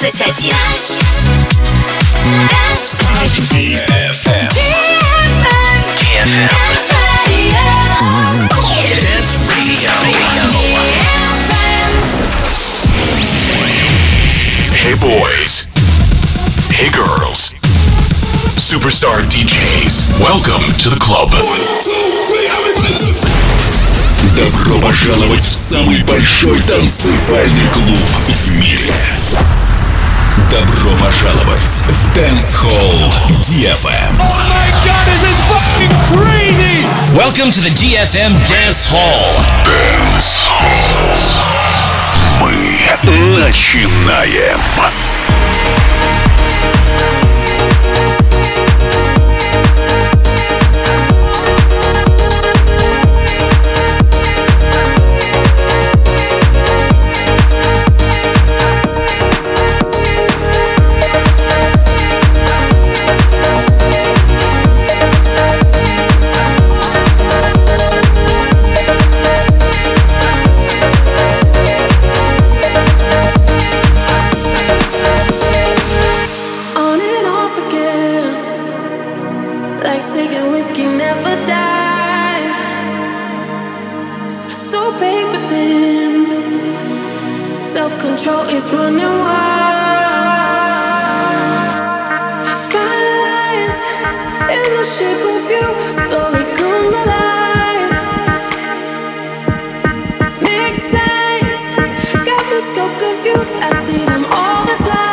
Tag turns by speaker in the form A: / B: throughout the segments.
A: 21.
B: DFM.
A: Dance Radio.
B: Dance Radio. Hey boys. Hey girls. Superstar DJs. Welcome to the club.
C: Добро пожаловать в самый большой танцевальный клуб в мире. Добро пожаловать в Dance Hall DFM.
D: Oh my god, this is fucking crazy!
E: Welcome to the DFM Dance Hall.
C: Dance Hall. Мы начинаем.
F: Self-control is running wild. Fine lines in the shape of you slowly come alive. Make sense, got me so confused. I see them all the time.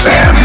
C: DJFM.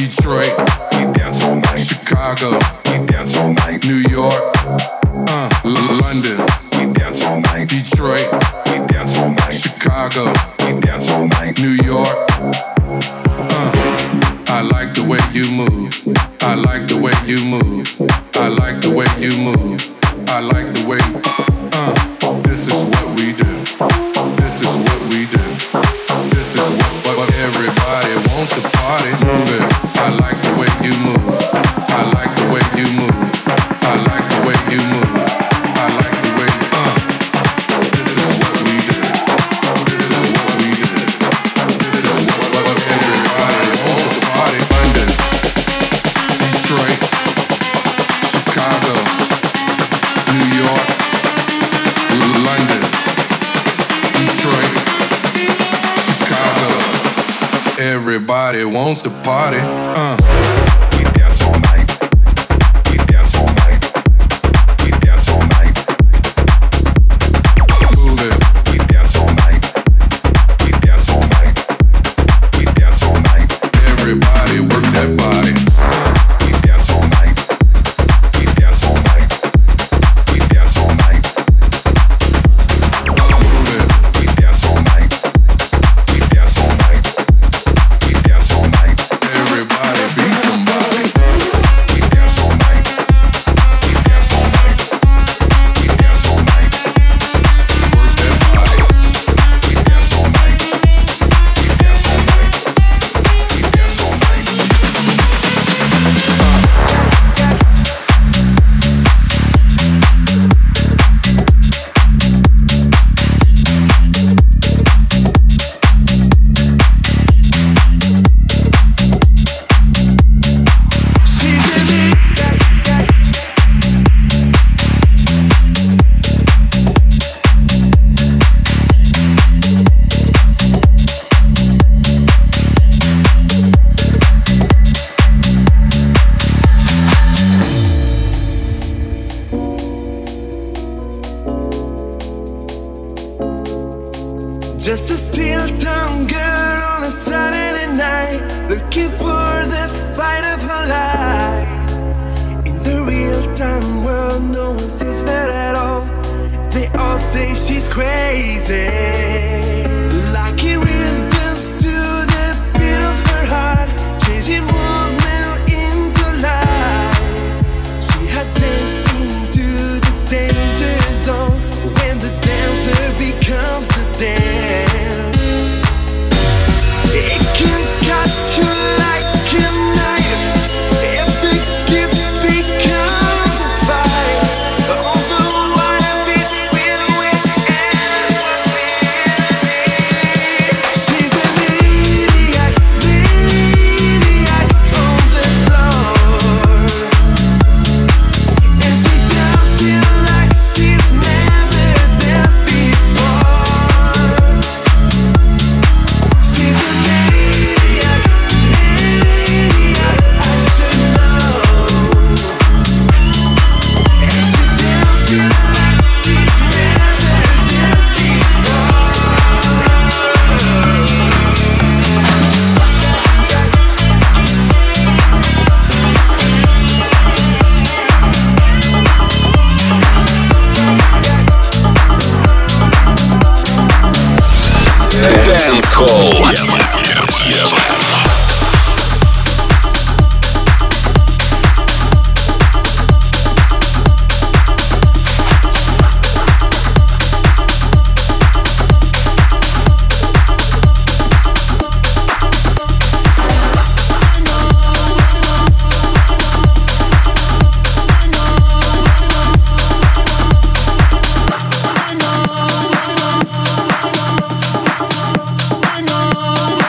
A: Detroit, we dance all night. Chicago, we dance all night. New York, London, we dance all night. Detroit, we dance all night. Chicago, we dance all night. New York, I like the way you move. I like the way you move. I like the way you move. I like the way. This is what we do. This is what we do. This is what everybody wants to party. Move it. I like the way you move. I like the way you move. I like the way you move. I like the way. This is what we do. This is what we do. This is what everybody wants to party. London, Detroit, Chicago, New York, London, Detroit, Chicago. Everybody wants to party. We dance all night. We dance all night. We dance all night. Move it. We dance all night. We dance all night. We dance all night. Everybody work that body. We dance all night. We dance all night. We dance all night. Move it. We dance all night. We dance all night. We dance all night. Everybody be somebody. We dance all night. We dance all night. We dance all night. Work that body. We dance all night. We dance all night. We dance all night.
G: Just a steel-tongued girl on a Saturday night, looking for the fight of her life. In the real-time world, no one sees her at all. They all say she's crazy. Locking rhythms to the beat of her heart, changing movement into life. She had danced into the danger zone when the dancer becomes the dance. It can cut you like a knife if the gift becomes a fight. All the wire between wind and wind. She's an idiot, maniac on the floor, and she's dancing like she's never danced before. She's a maniac, I should know. And she's dancing like she's never danced before.
C: Dance Hall.
F: I know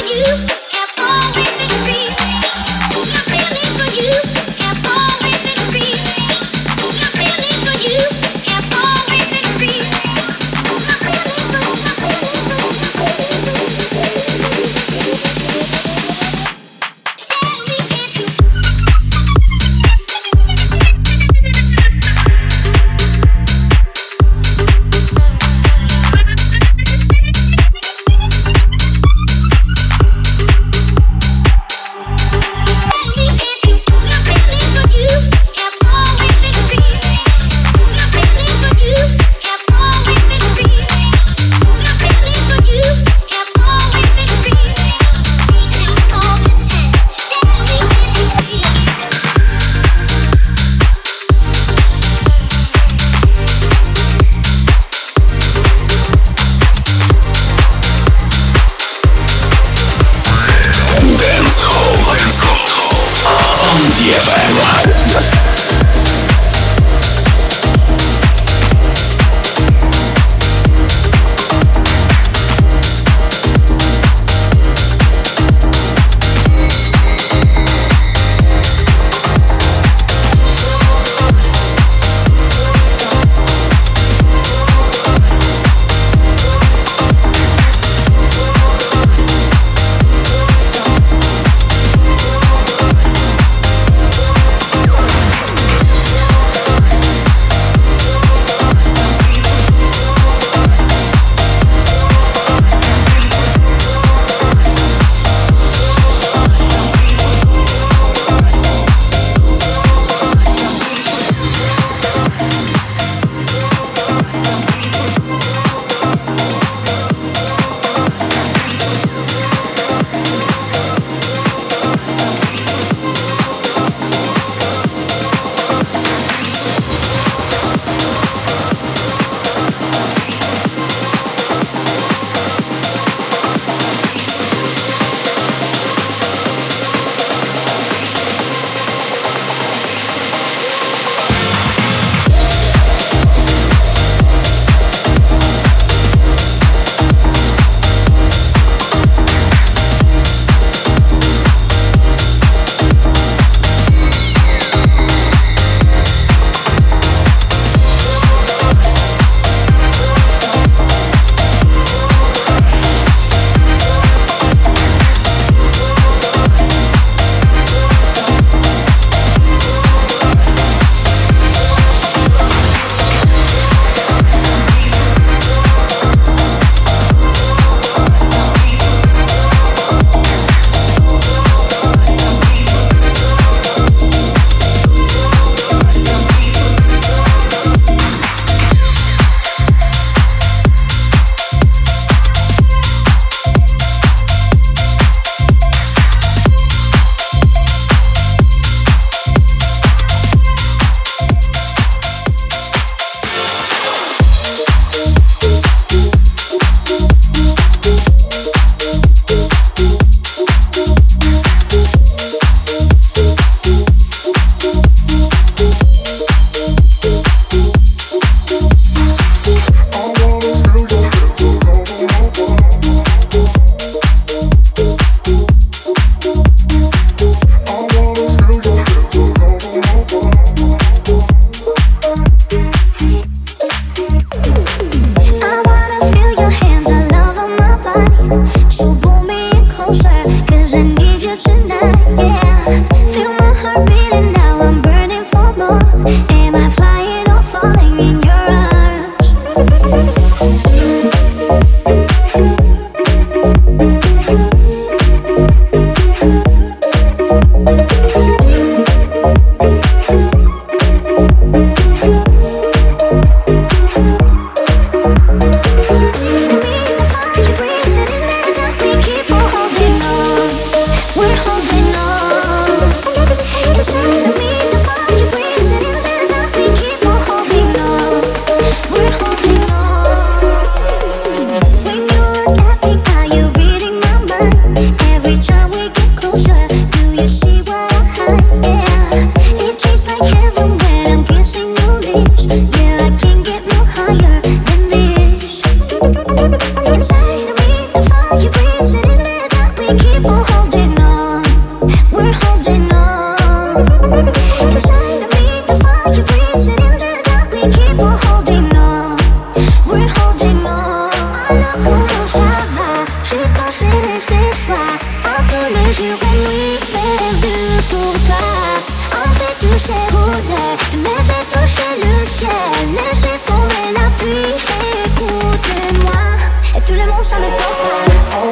H: We're holding on. ces soirs un peu le jour et nuit perdu pour toi. On fait toucher roulets, mais fait toucher le ciel. Laissez tomber la pluie, écoutez-moi. Et tout le monde ça me porte pas.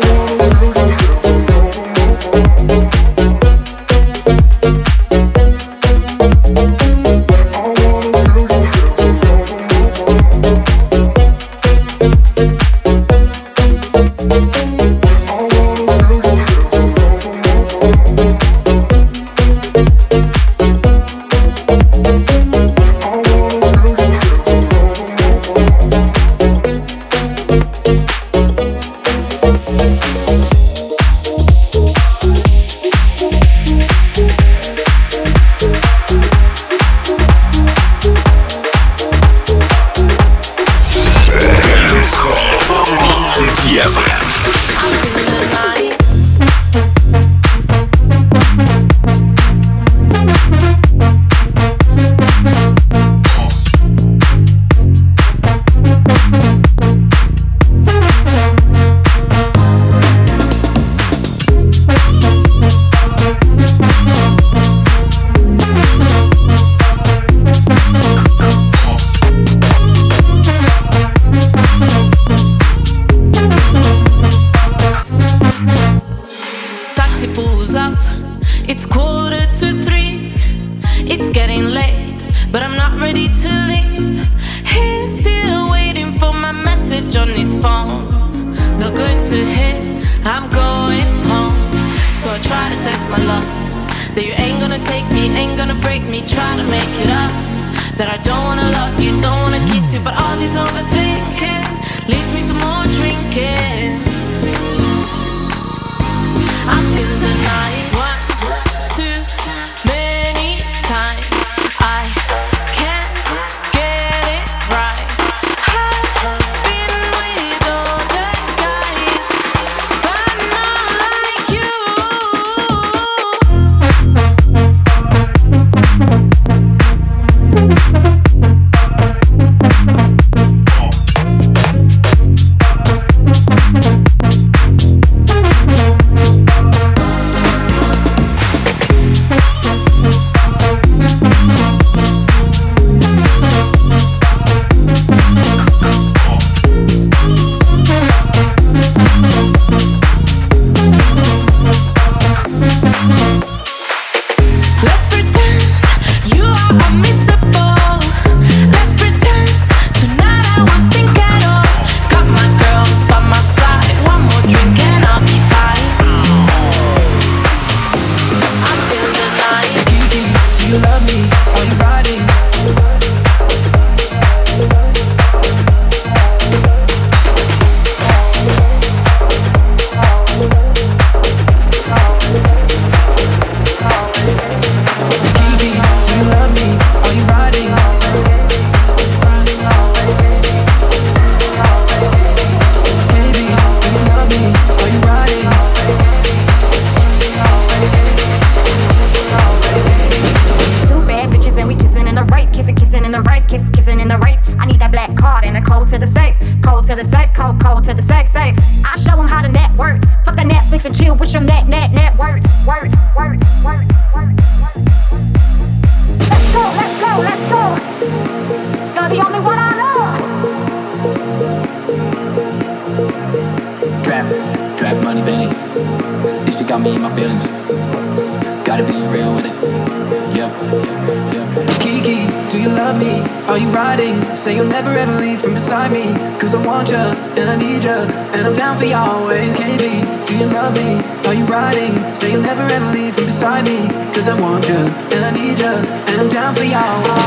I: Say you'll never ever leave from beside me. Cause I want you, and I need you, and I'm down for you always. KB, do you love me? Are you riding? Say you'll never ever leave from beside me. Cause I want you, and I need you, and I'm down for you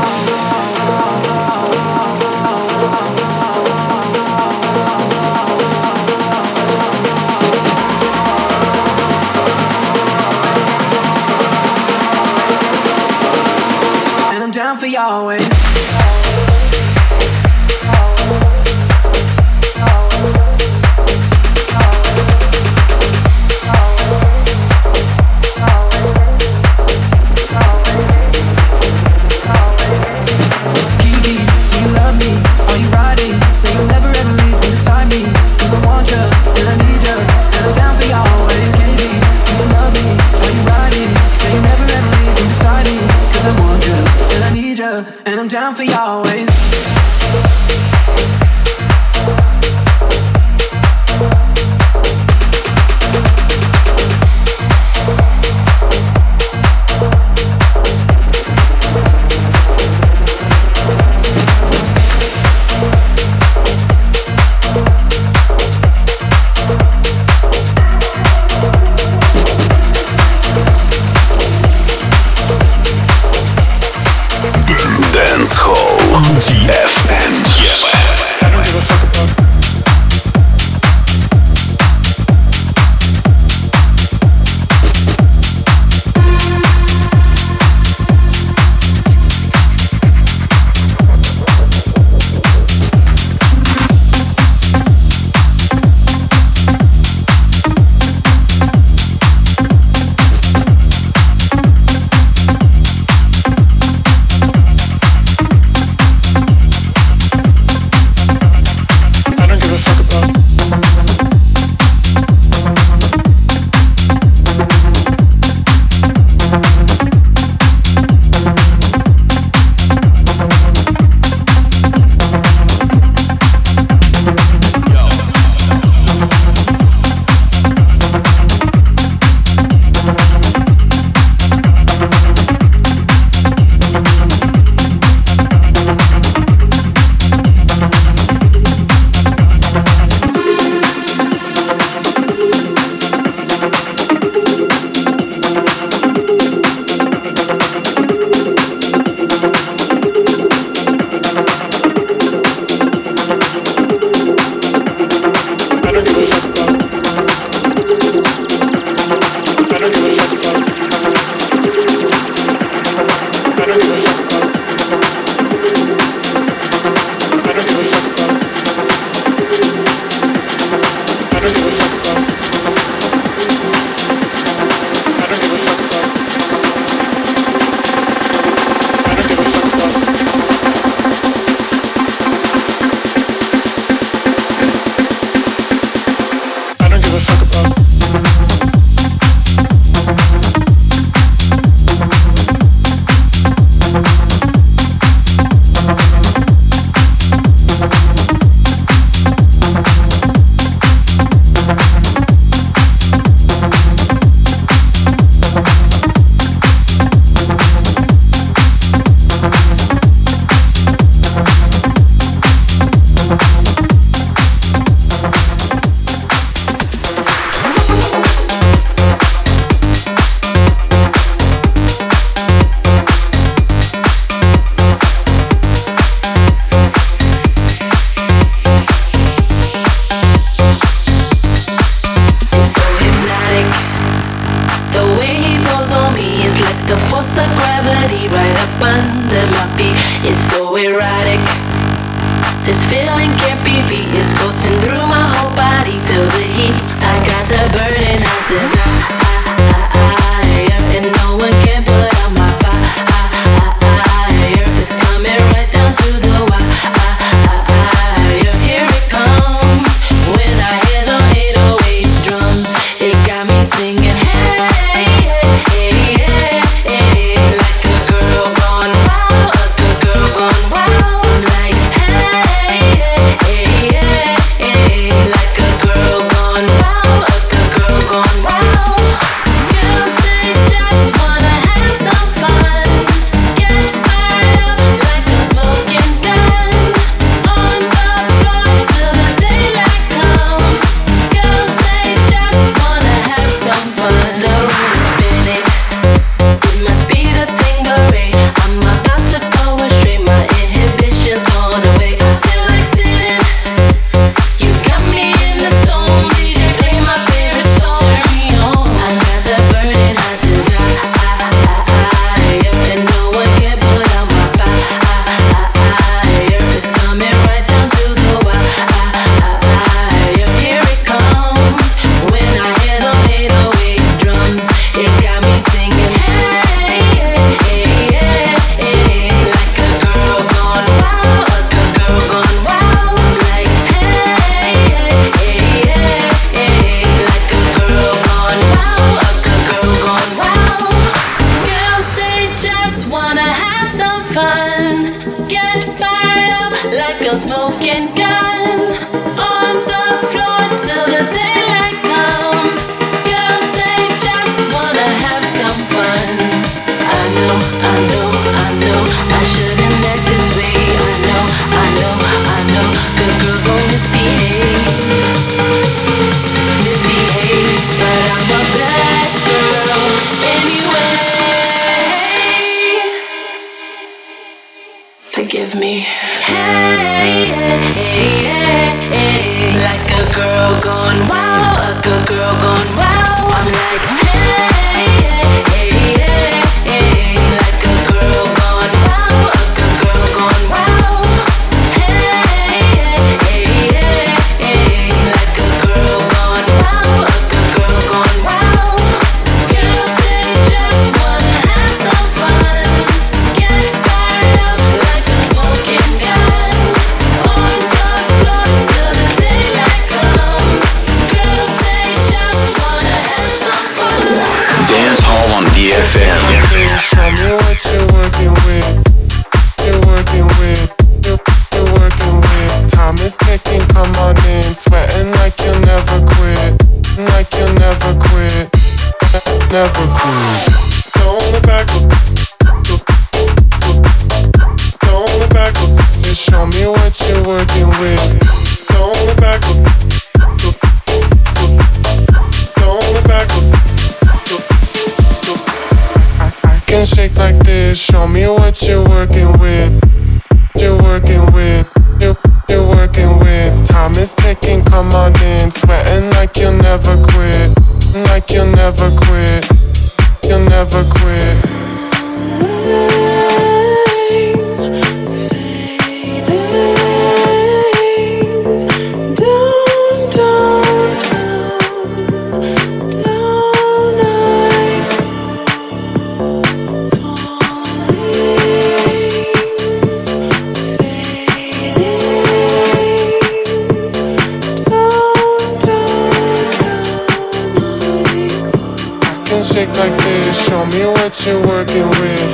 I: and I'm down for you always. Say you'll never ever leave from beside me. Cause I want you, and I need you, and I'm down for y'all. down for you always.
C: Dance Hall DFM.
D: I don't give a fuck about.
F: Wow.
B: DFM.
J: Show me what you're working with. You're working with. You're working with. Time is ticking, come on in. Sweating like you'll never quit. Like you'll never quit. Never quit. Don't look back. Don't look back. Just show me what you're working with. Don't look back. Don't look back. Can shake like this, show me what you're working with. You're working with, you're working with. Time is ticking, come on in. Sweating like you'll never quit. Like you'll never quit. You'll never quit. Shake like this, show me what you're working with.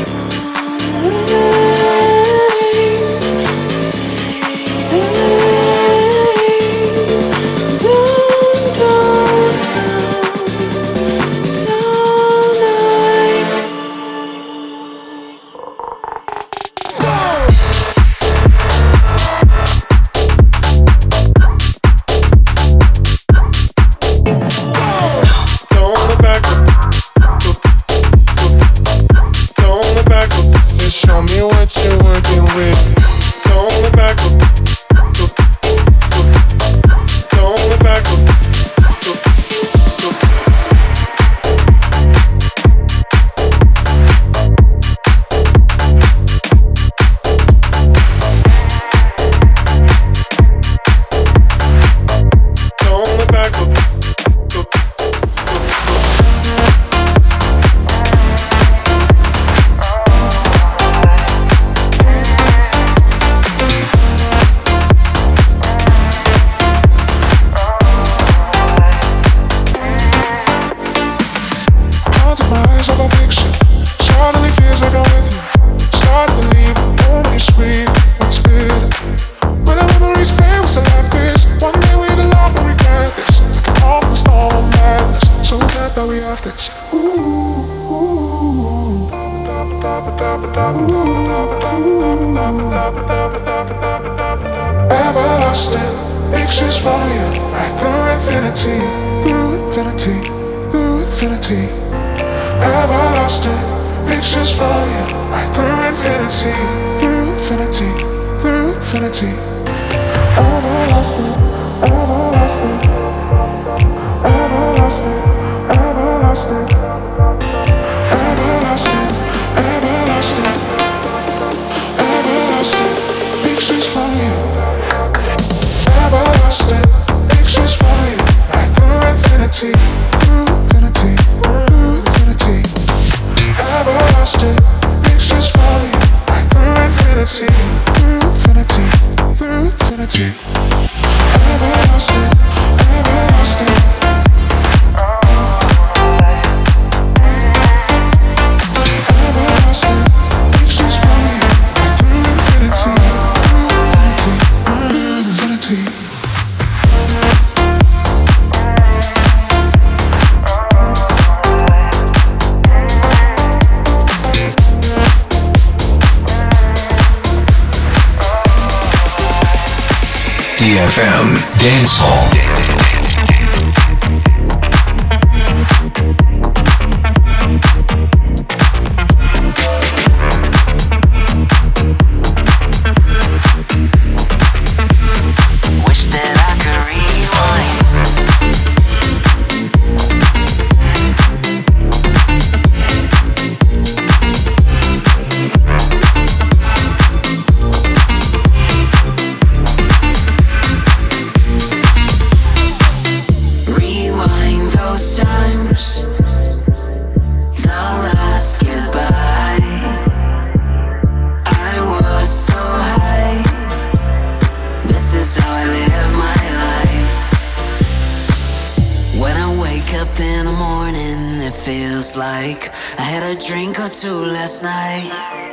G: Everlasting pictures for you, right through infinity, through infinity, through infinity. Everlasting pictures for you, right through infinity, through infinity, through infinity. Everlasting, everlasting, everlasting, everlasting, everlasting, everlasting, everlasting pictures for you. Everlasting pictures for you, right through infinity, through infinity, through infinity. Everlasting pictures for you, right through infinity, through infinity, through infinity. Everlasting, everlasting. Everlasting pictures for you, right through infinity, through infinity, through infinity.
B: DFM Dance Hall.
K: feels like I had a drink or two last night.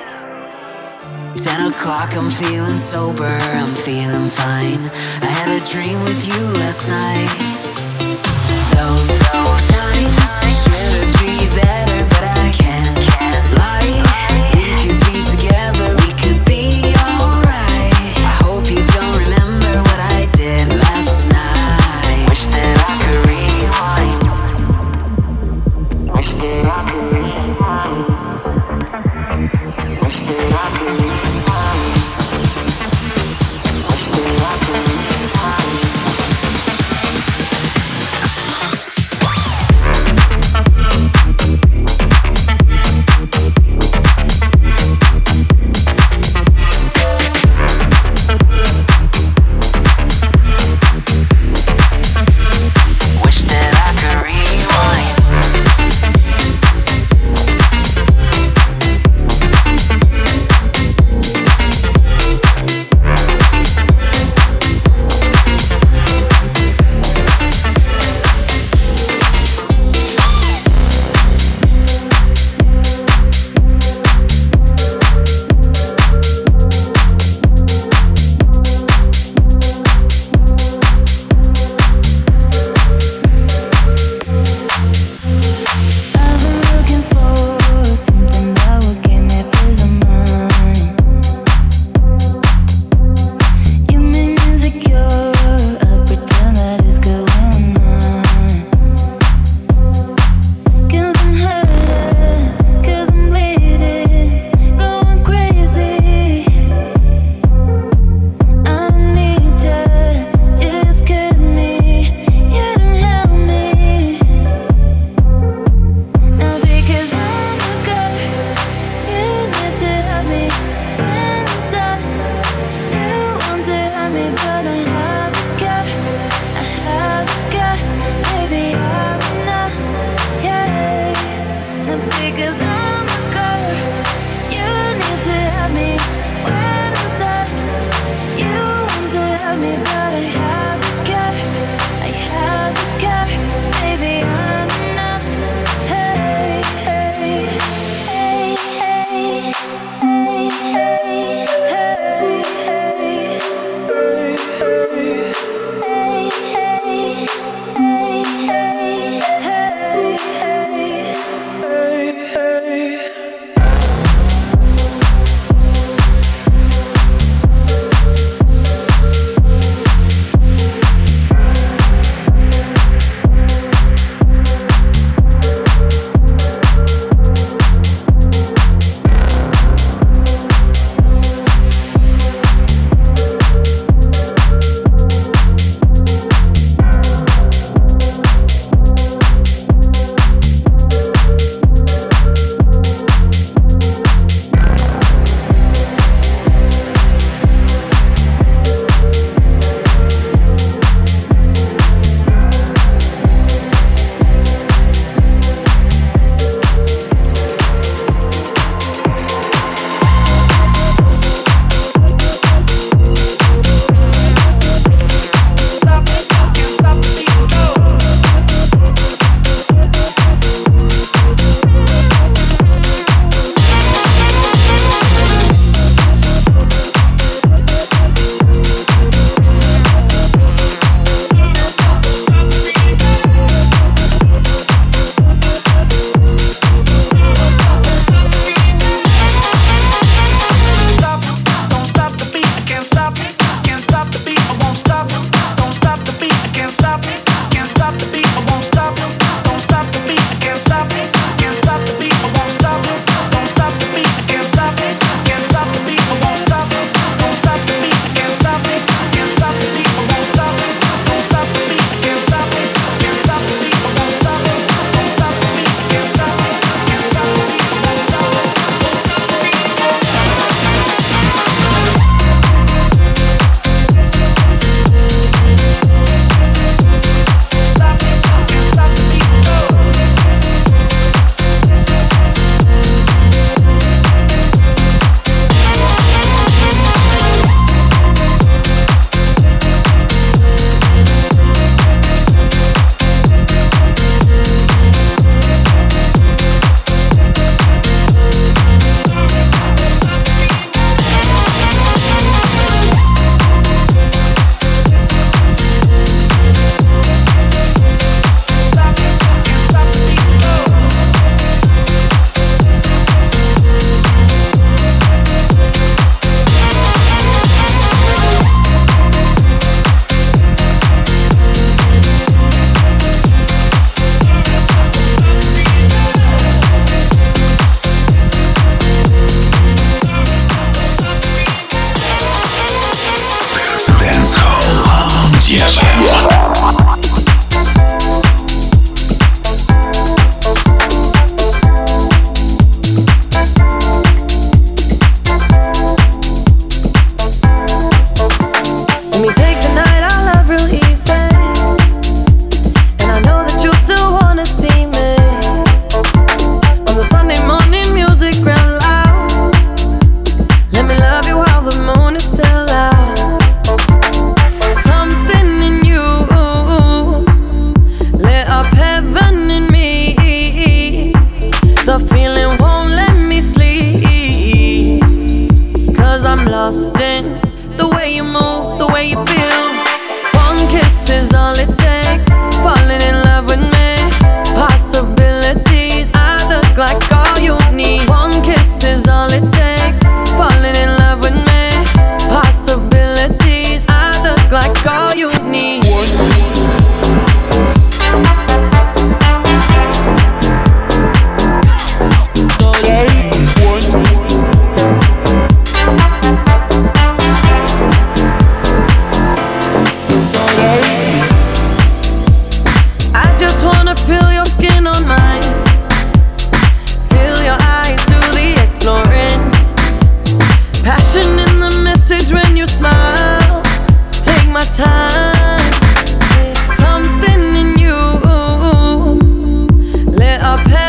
K: 10 o'clock, I'm feeling sober, I'm feeling fine. I had a dream with you last night. Those times should have treated you better, but I can't lie. We could be together, we could be alright. I hope you don't remember what I did last night. Wish that I could rewind. Wish that I could rewind. Wish that I could rewind. Wish that I could rewind.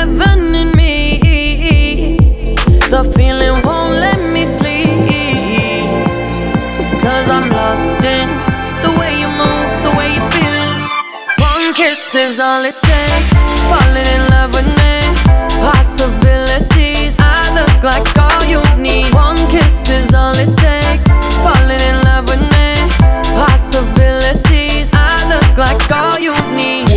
F: heaven in me. The feeling won't let me sleep, 'cause I'm lost in the way you move, the way you feel. One kiss is all it takes, falling in love with me. Possibilities, I look like all you need. One kiss is all it takes, falling in love with me. Possibilities, I look like all you need.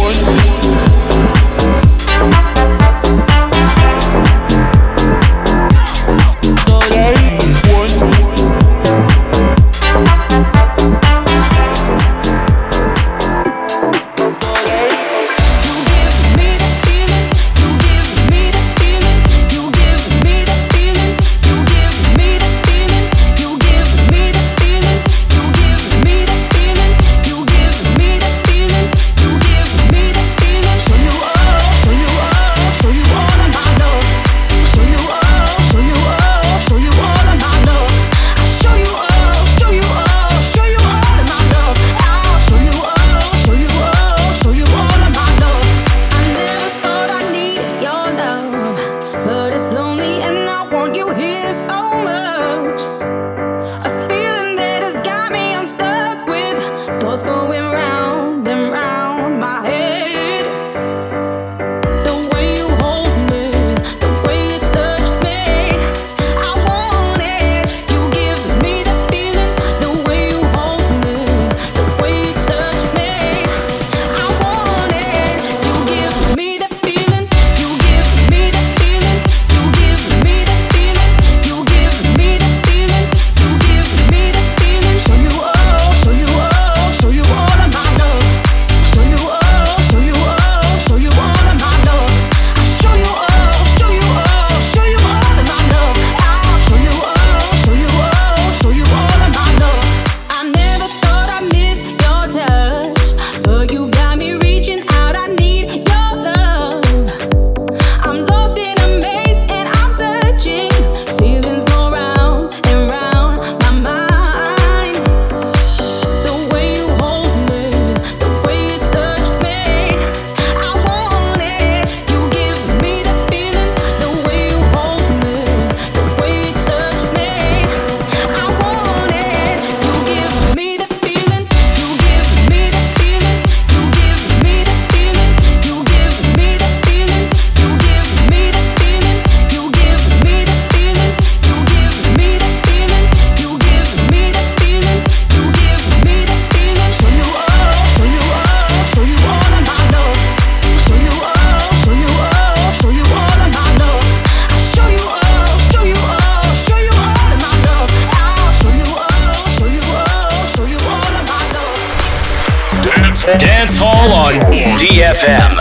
E: Dance Hall on DFM.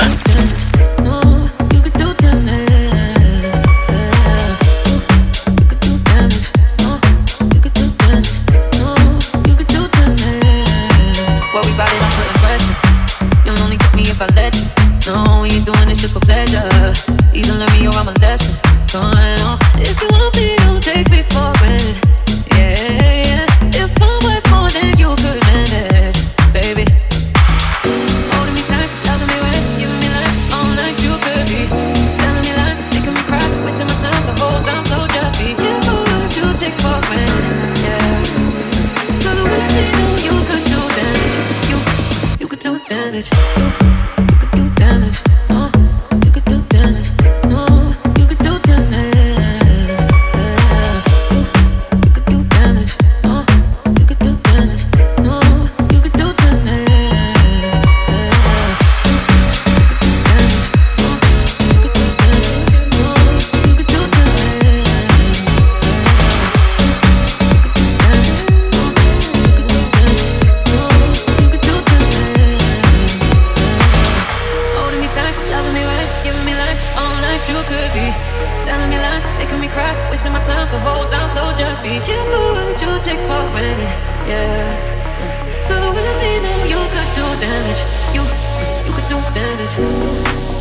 F: If I let you know you're doing this just for pleasure, either learn me or I'm a lesson. Going on. If you want me, don't take me for granted. Yeah, yeah. If I'm worth more than you could manage, baby. Holding me tight, loving me right, giving me life all night you could be. Telling me lies, making me cry, wasting my time the whole time, so just be careful what you take for granted. Yeah. 'Cause with me, know you could do damage. You could do damage. You could do damage.